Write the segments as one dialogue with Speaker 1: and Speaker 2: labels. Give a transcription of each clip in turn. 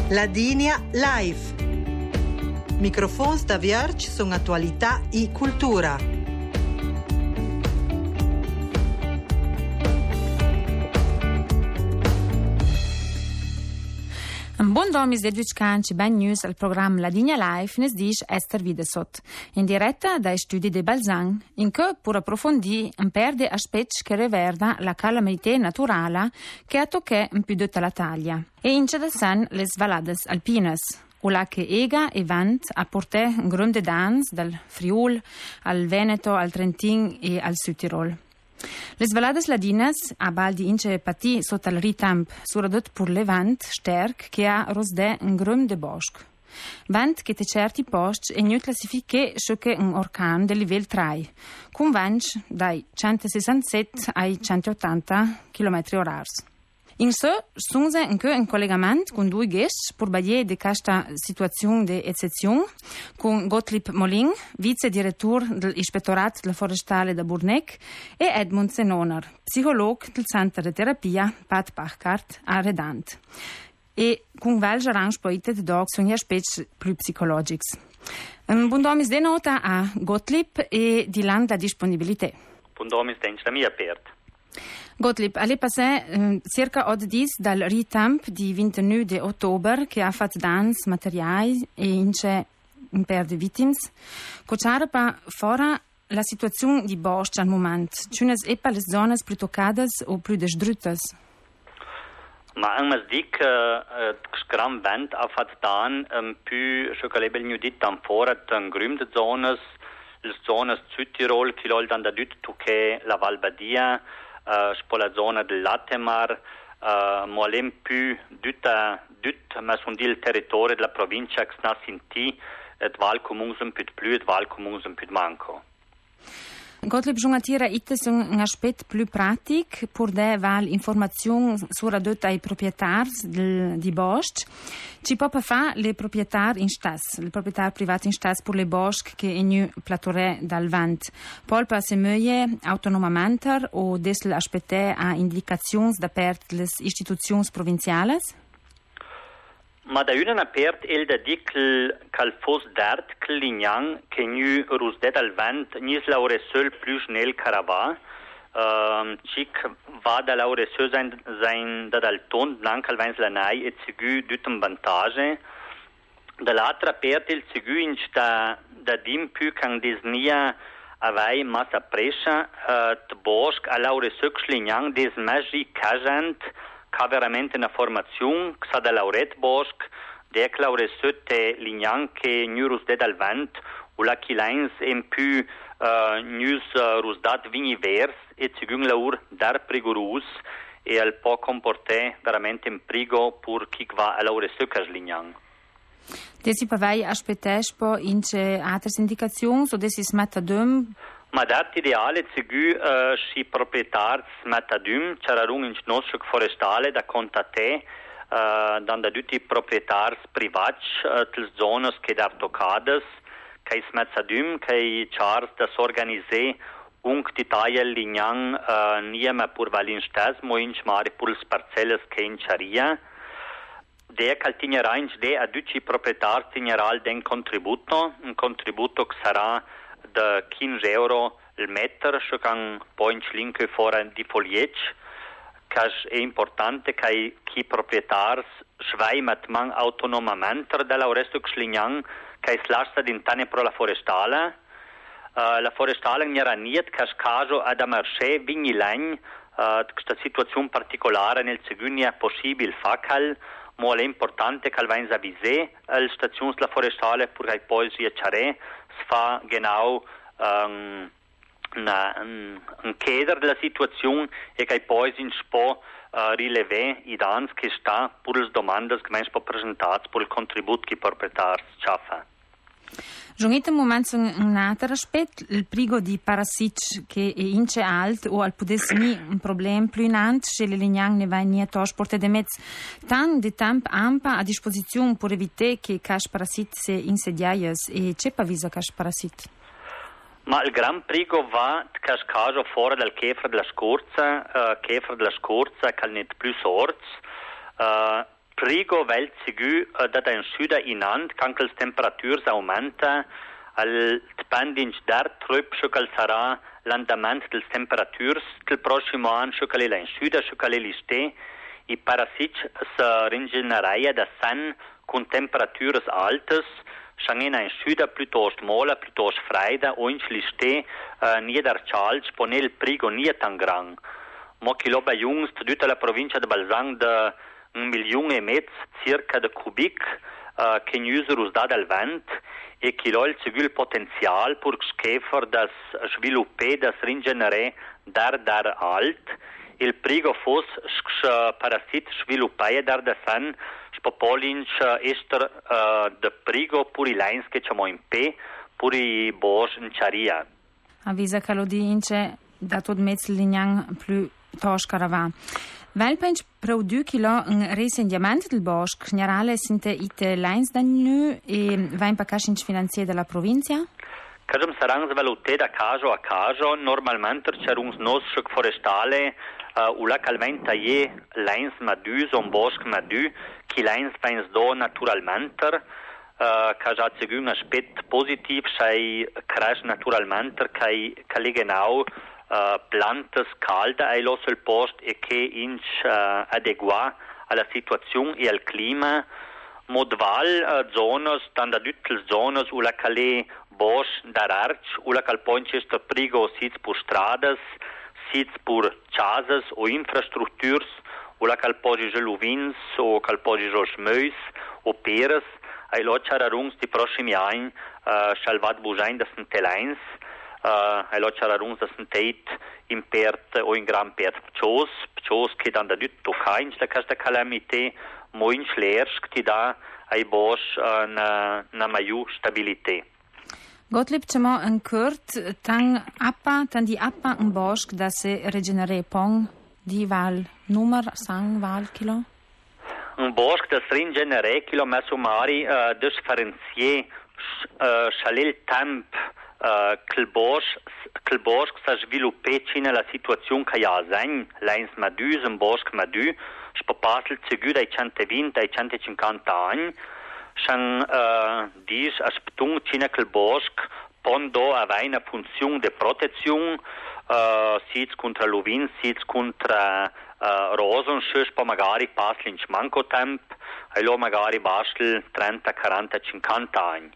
Speaker 1: Ladinia Live. Microfons da Vierge sono attualità e cultura.
Speaker 2: Un buon domis de Duccanci Ben News al programma Ladinia Live nes dice Esther Videsot, in diretta dai studi di Balzan, in cui pur approfondì un per de aspetti che reverda la calamità naturale che ha toccato un più tutta la taglia, e in cedasan le svalades alpines. Ula che ega e vant a portare un grande dans dal Friul al Veneto, al Trentin e al Südtirol. Le svalades ladinas a baldi ince pati sotto il ritamp suradot pur levant sterk che ha rosde un grum de bosc. Vant che te certi post e nu classifiche sciocche un orcan del livello 3, con vent dai 167 ai 180 km/h. In so, sunse anche in collegamento con due guest per bagliare di questa situazione di eccezione, con Gottlieb Molin, vice direttore dell'Ispettorato della Forestale da Burnec, e Edmund Senoner, psicologo del Centro di Terapia Pat Bachkart a Redant. E con Valge Range Poite de Dog sono gli aspetti più psicologici. Un buon domis de nota a Gottlieb e di landa disponibilità.
Speaker 3: Buon domis da mia aperta.
Speaker 2: Gottlieb, alle passé circa 8 giorni dal ritamp di 29 di ottobre che ha fatto dans materiali e ince un per di vittime. Cocciare pa fora la situazione di bosco al momento. Ciunes e pa le zone più toccate o più distrutte?
Speaker 3: Ma un dic gran vent ha fatto dan più chocolabel nu dit tam fora tan grümde zones, le zones Südtirol, che lol dan da dut tocche la Val Badia, la zona del Latemar, molem più dut ma son il territorio della provincia che sta sinti et Val Comuns un più più et Val Comuns un più manco.
Speaker 2: Gottlieb Giungatira itte un aspetto più pratico per dare informazioni sulla dotta ai proprietari di boschi. Ci può fare le proprietari in stas, le proprietari privati in stas per le boschi che in platore dal vent. Polpa se möje autonomamente o desle aspettare a indicazioni da parte delle istituzioni provinciali?
Speaker 3: Ma da una apert el da dic cal fos d'art clignang che nu rusdet al vent nis laure seul plus schnell carava cic va da laure seul sein da dal ton blanc al vens lanai et sigu dutum vantage da l'altra apert el sigu in sta da dim più can disnia avai massa prescia t bosc a laure seul clignang des magi cagent ca veramente una formazione che sa da lauret bosc de claure sotte lignan che nurus de dal vent o la chilens en più nus rusdat vini vers e zigung laur dar prigurus e al po comporte veramente in prigo pur chi va a laure soccas lignan.
Speaker 2: Desi pavai aspettes po ince altre indicazioni o desi smattadum?
Speaker 3: Ma dat ideale zigu si proprietars metadum c'erarung in nostro forestale da contate dan da tutti proprietars privats tel zones che da toccades che smetadum che chars da s'organiser unk di taglia lignan niema pur valin stas mo in mare pur parcelles che in charia de caltignerà in de a tutti proprietars general den contributo un contributo che sarà da 15 euro il metro, che can poi in slinke fuori di foliec, che è importante che chi proprietari sveimat man autonomamente dalla resto slignan che slasta d'intane pro la forestale. La forestale non era niet che caso ad amarche vigni legn, questa situazione particolare nel segundo è possibile facal, ma è importante che venga avvisé alle stazioni della forestale perché poi si accare fa genau un chiedere della situazione e che poi si può rilevare i danni che sta per le domande che vengono presentate per il contributo che i proprietari sciaffa.
Speaker 2: Giungete un momento un altro aspetto, il prigo di parassiti che è ince alto o al pudessimi un problema più in ant, se le lignang ne va in porte de mezzo tan di tempo ampa a disposizione per evitare che cash parasit se insediaias e c'è pavisa cash parasit?
Speaker 3: Ma il gran prigo va cash caso fuori dal chefra della scorza che al net più sorts sprigo vel sigu da in sud inand, canque le temperatures aumenta, al depending dar trup che sarà l'andamento delle temperature del prossimo anno che in sud, che l'iste, i parasiti si rigenereia da san con temperature alte, Shangena in sud piuttosto mola, piuttosto freida, o in liste nieder Charles pone il prigo nie tan gran. Mo kiloba jungs tutta la provincia de Balzang de 1,5 milioni circa de cubic che nuserus da del vent e kilo il civil potenzial pur skefer das svilupper das rigenere dar alt. Il prigo fos parasit sviluppaia dar da san Spopolinch ester de prigo puri lines che c'amo in pe puri bosch in charia.
Speaker 2: Avvisa che lo dice da tot mezzo lignan più toscarava. Velpench produce kilo un resendiamento del bosco generale sinte ite lines da nu e va in pacashin finanzier della provincia?
Speaker 3: Kažem sarangs valute da caso a caso normalmente c'erungs nos forestale localmente je lines madu son bosc madu qui lines pens do naturalmente che già c'è un aspetto positivo sei crash naturalmente che le genau plantes calde ai los il post e che inch adegua alla situazione e al clima modval zonas dann da düttel zonas ula cale bosch dararch ula cal ponchester prigo sits pur stradas sits pur chasas o infrastructures ula cal pogige luvins o cal pogige schmeus o peres ai lo chararungs di prossimi anni salvat bujain das telains ai lo chararungs das teit in pert o in gran pert pchos che dan da dütto kain sta casta calamite moin schlersk ti da ai bosch na maiu stabilité.
Speaker 2: Gottlieb c'emo un curt tan di appa un bosc da se regenere pong di val numero sang val kilo?
Speaker 3: Un bosc da se regenere kilo ma sumari differenzier chalel temp che il bosc sa sviluppé cina la situazione che ha sen lines madus un bosc madu spopasel cigu dai 120 dai 150 anni Shan dis asptung cina che il bosc pondo aveva una funzione di protezione sits contra l'uvin, sits contra rosen, poi magari passi in manco tempo e lo magari bastel 30, 40, 50 anni.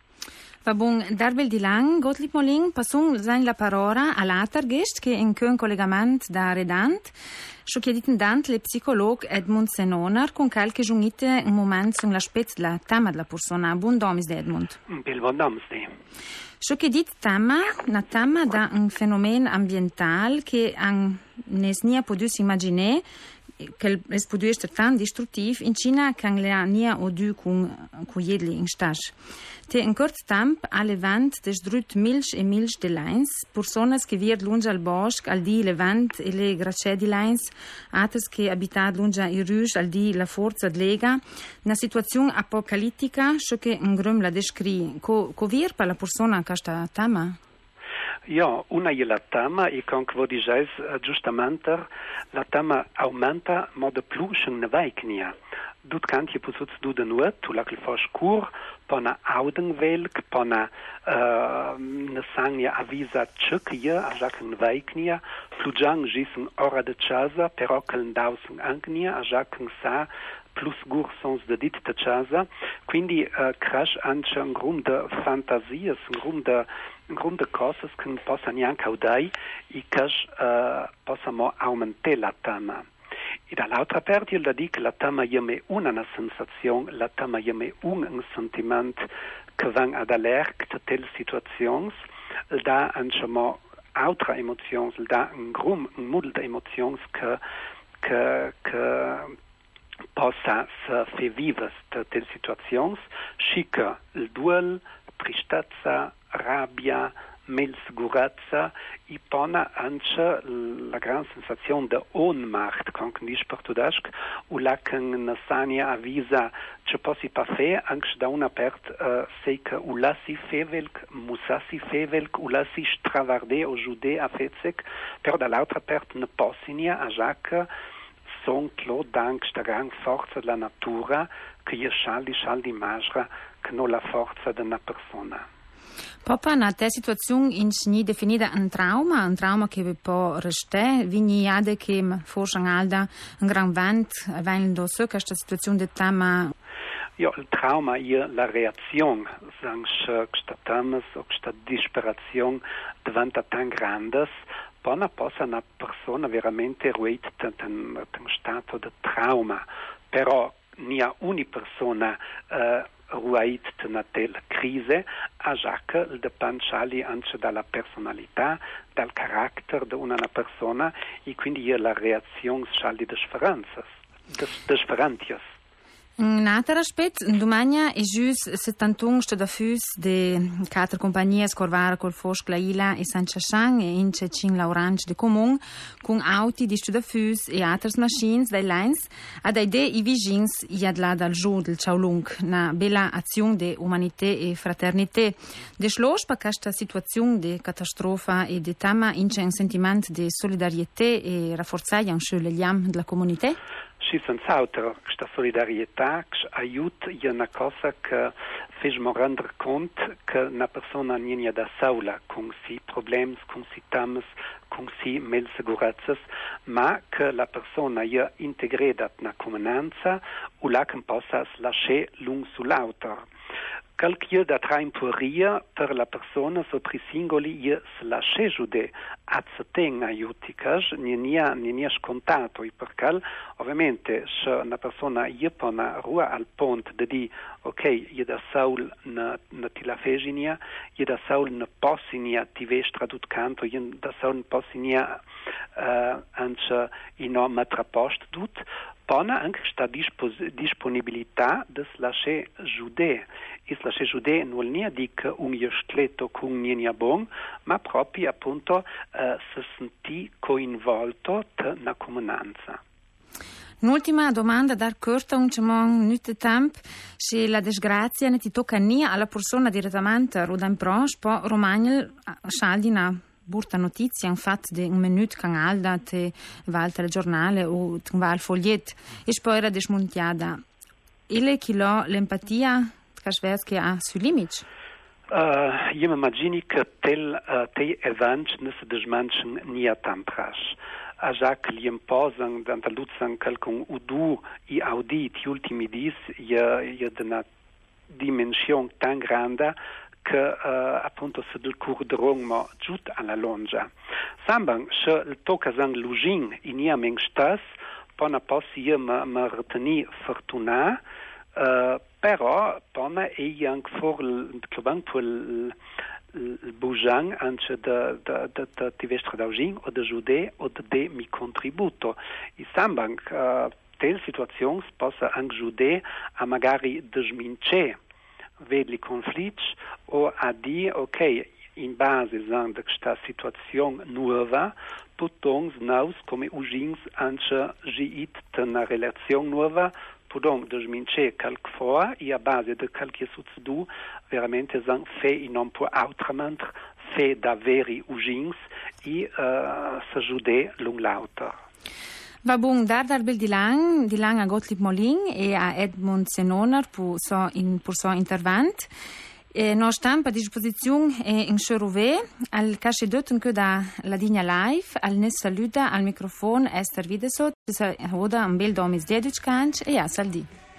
Speaker 2: Va bun, darbel di lang, Gottlieb Molin, passung sein la parola all'alter gest che in un collegamento da redant, scho chiediten dant le psicolog Edmund Senoner con calche giungite un moment sun la spez la tema della persona. Buon domis de Edmund.
Speaker 4: Bil buon domis de.
Speaker 2: Scho chiedit tema da un fenomeno ambiental che an nesnia podus imaginer che es podu esser tan destructiv in Cina can la nia o du con jedli in stas. Te in curt temp alle vent desdrut milch e milch de lines, personas che vier lunge al bosc al di le vent e le grace di lines, altres che abitat lunge i ruge al di la forza de lega, una situazione apocalittica, scho che un grum la descri. Co vier per la persona che sta tema?
Speaker 4: Ja, una je la tema e con che dices giustamente la tema aumenta mod plus ne vaiknia. Dut kant je posuts du de nuot, tu la clifosh cur, pona audenvelk, pona ne sangja avisa tschukje, a jaken vaiknia, flujang jisen ora de chasa, però kel dausen angnia, a jaken sa, plus gur sons de dit de chasa, quindi crash anche un grum de fantasies, un grum de cosas che possan neanche audai, e che possano aumentare la tema. E dall'altra parte il da dic la tema yeme una sensazione, la tema yeme un sentiment che van ad allerg de tel situazions, il da anche mo altra emozions, il da un grum, un model de emozions che possa se fe vives de tel situazions, schica il duel, tristezza, rabbia, sicurezza e pona anche la gran sensazione di Ohnmacht, con cui dice portudesc, o la che Nassania avvisa che possi pa fe, anche da una parte sei che o la si fevelk, musassi fevelk, o la si stravarde o giude a fezek, però dall'altra parte ne possinia a già che sontlo dank sta gran forza della natura che je scialdi magra che non la forza della persona.
Speaker 2: Popa na te situazione in ni definita un trauma che può restare, vini ade che forse alda un gran vent, avendo so questa situazione di tema.
Speaker 4: Il trauma è la reazione, se questa temas o questa disperazione diventa tan grande, poi possa una persona veramente ruita in stato di trauma, però nia una persona ruait na tel crisi, a giacca il dipende anche dalla personalità, dal carattere di una persona e quindi la reazione di differenze.
Speaker 2: Un altro aspetto, domani è giusto 71 sto da fus de 4 compagnie scorvare col Fosch, Laila e San Chashang e in Cecin l'Orange de Comune con auti di sto da fus e altre machines dai lines ad idee i vigins iadla dal giù del Chaolung na bella azione de umanità e fraternità de schloss per questa situazione de catastrofa e de tama in un sentimento di solidarietà e rafforzare anche le legami della comunità.
Speaker 4: Sì, senz'altro, questa solidarietà aiuta è una cosa che facciamo rendere conto che una persona non è da sola con i problemi, con i temi, con i malsicurezze, ma che la persona è integrata nella comunanza o la che possa lasciare l'un sull'altro. Qualche da tra impuria per la persona so per singoli è lasciare giudè a certain aiuticas non è scontato e perché ovviamente se una persona è pona rua al ponte di dire ok, è da sol na tila feginia, è da sol na possinia ti ves tradut canto, è da sol na possinia anche in no matrapost dut, pona anche sta disponibilità di lasciare giudè. Il lasciare giudè non è dic un stletto con niente buon, ma proprio appunto si sentì coinvolto nella comunanza.
Speaker 2: Un'ultima domanda dar corta un minuto tempo se la disgrazia ne ti tocca nia alla persona direttamente o da improche po romagnel scaldi na burta notizia in fatto di un minuto can alda te va al telegiornale o te va al foglietto e poi era desmontiata ile chilo l'empatia che ha sui limiti.
Speaker 4: Io mi immagino che te eventi non si desmanchen nia tampras. A già che gli imposan d'Andaluzzan calcun udu e audit gli ultimi dis è una dimensione tan grande che appunto se del curderong giut alla longa. Samban se il tocca san lugin in ia meng stas, pona possi io ma reteni fortuna, però pona e anche for il bujan anche di vestre d'augin o de giudè o de mi contributo. I samban tel situazione possa anche giudè a magari desmince vedli conflitti o a dire ok, in base a questa situazione nuova potons nous come ugins anche giit una relazione nuova podom desmince calc fora e a base de calche succedu veramente san fe e non può autrament fe da veri ugins e s'ajude l'un l'autor.
Speaker 2: Va bun, dar bel di lang a Gottlieb Molin e a Edmund Senoner pour son intervent. No stampa a disposizione in Cherouvé, al cache d'otten che da la Digna Live, al ne saluta al microfono Esther Videsot, oda un bel domis dedic canc e a saldi.